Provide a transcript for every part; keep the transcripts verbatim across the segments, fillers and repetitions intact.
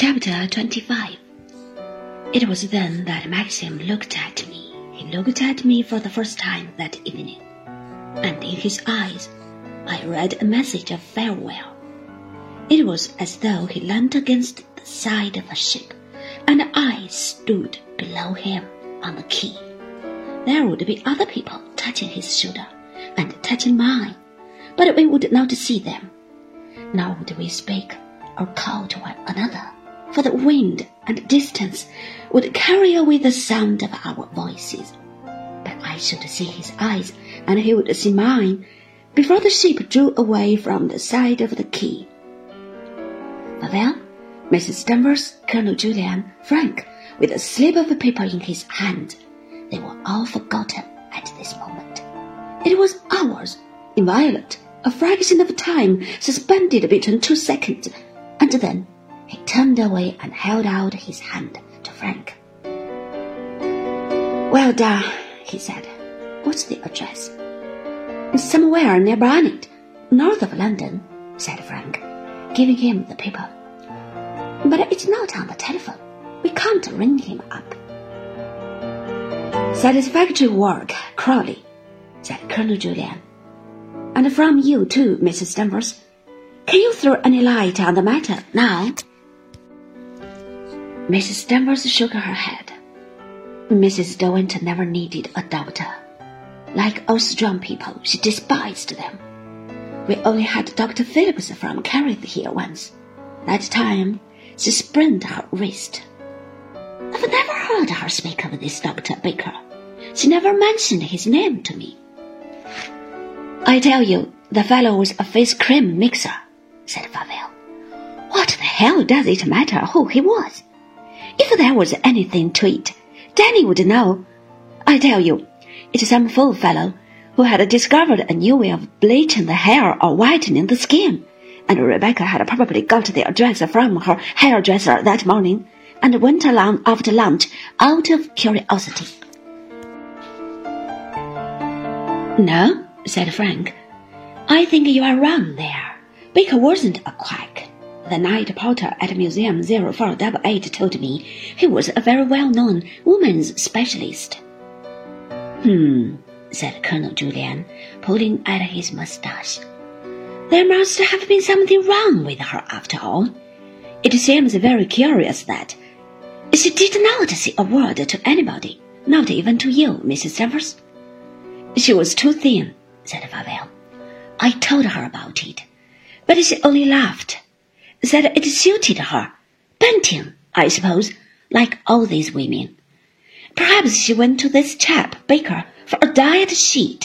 Chapter twenty-five. It was then that Maxim looked at me. He looked at me for the first time that evening, and in his eyes I read a message of farewell. It was as though he leant against the side of a ship, and I stood below him on the quay. There would be other people touching his shoulder and touching mine, but we would not see them, nor would we speak or call to one another, for the wind and distance would carry away the sound of our voices. But I should see his eyes, and he would see mine, before the ship drew away from the side of the quay. Farewell, Missus Danvers, Colonel Julian, Frank, with a slip of paper in his hand. They were all forgotten at this moment. It was hours, inviolate, a fraction of time suspended between two seconds, and then he turned away and held out his hand to Frank. Well done, he said. What's the address? Somewhere near Barnet, north of London, said Frank, giving him the paper. But it's not on the telephone. We can't ring him up. Satisfactory work, Crawley, said Colonel Julian. And from you too, Missus Danvers. Can you throw any light on the matter now? Missus Danvers shook her head. Missus Derwent never needed a doctor. Like all strong people, she despised them. We only had Doctor Phillips from Carrick here once. That time, she sprained her wrist. I've never heard her speak of this Doctor Baker. She never mentioned his name to me. I tell you, the fellow was a face cream mixer, said Favell. What the hell does it matter who he was? If there was anything to it, Danny would know. I tell you, it's some fool fellow who had discovered a new way of bleaching the hair or whitening the skin, and Rebecca had probably got the address from her hairdresser that morning and went along after lunch out of curiosity. No, said Frank. I think you are wrong there. Baker wasn't a quack. The night porter at Museum zero four eight eight told me he was a very well-known woman's specialist. Hmm, said Colonel Julian, pulling at his mustache. There must have been something wrong with her after all. It seems very curious that she did not say a word to anybody, not even to you, Missus Danvers. She was too thin, said Favell. I told her about it, but she only laughed, said it suited her. Bunting, I suppose, like all these women. Perhaps she went to this chap, Baker, for a diet sheet.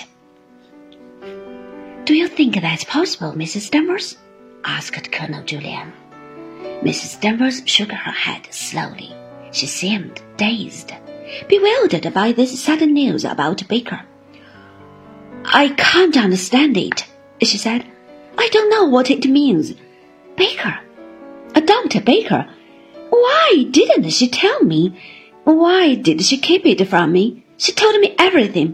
Do you think that's possible, Missus Danvers? Asked Colonel Julian. Missus Danvers shook her head slowly. She seemed dazed, bewildered by this sudden news about Baker. I can't understand it, she said. I don't know what it means. Baker? A Doctor Baker? Why didn't she tell me? Why did she keep it from me? She told me everything.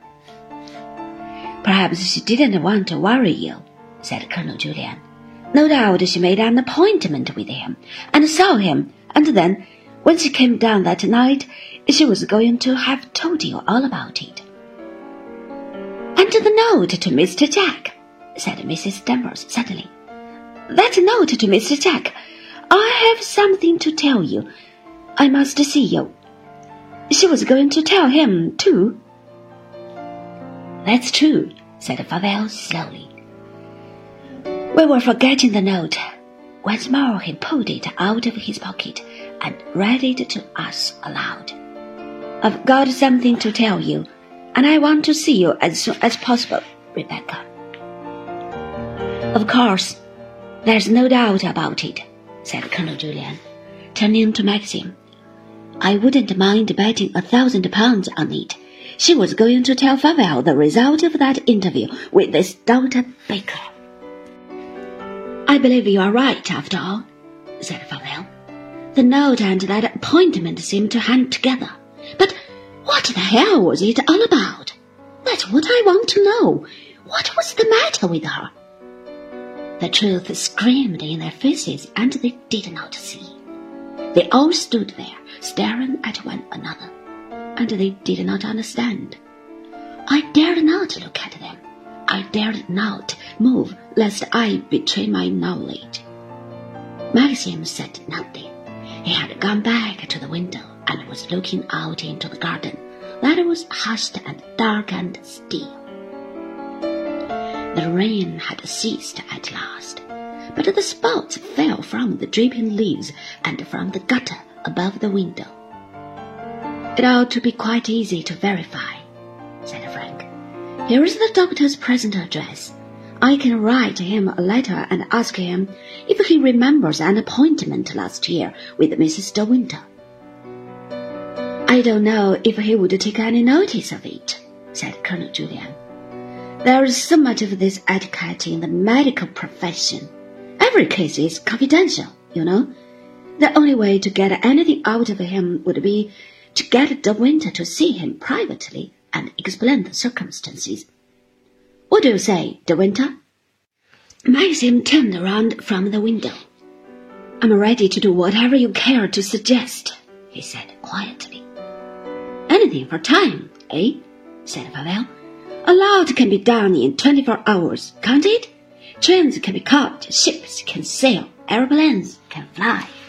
Perhaps she didn't want to worry you, said Colonel Julian. No doubt she made an appointment with him and saw him, and then, when she came down that night, she was going to have told you all about it. And the note to Mister Jack, said Missus Danvers suddenly. That note to Mister Jack. I have something to tell you. I must see you. She was going to tell him, too. That's true, said Favell slowly. We were forgetting the note. Once more he pulled it out of his pocket and read it to us aloud. I've got something to tell you, and I want to see you as soon as possible, Rebecca. Of course, there's no doubt about it, said Colonel Julian, turning to Maxim. I wouldn't mind betting a thousand pounds on it. She was going to tell Favell the result of that interview with this Doctor Baker. I believe you are right, after all, said Favell. The note and that appointment seem to hang together. But what the hell was it all about? That's what I want to know. What was the matter with her? The truth screamed in their faces, and they did not see. They all stood there, staring at one another, and they did not understand. I dared not look at them. I dared not move, lest I betray my knowledge. Maxim said nothing. He had gone back to the window and was looking out into the garden that was hushed and dark and still. The rain had ceased at last, but the spots fell from the dripping leaves and from the gutter above the window. It ought to be quite easy to verify, said Frank. Here is the doctor's present address. I can write him a letter and ask him if he remembers an appointment last year with Missus De Winter. I don't know if he would take any notice of it, said Colonel Julian. There is so much of this etiquette in the medical profession. Every case is confidential, you know. The only way to get anything out of him would be to get De Winter to see him privately and explain the circumstances. What do you say, De Winter? Maxim turned around from the window. I'm ready to do whatever you care to suggest, he said quietly. Anything for time, eh? Said Pavel. A lot can be done in twenty-four hours, can't it? Trains can be caught, ships can sail, airplanes can fly.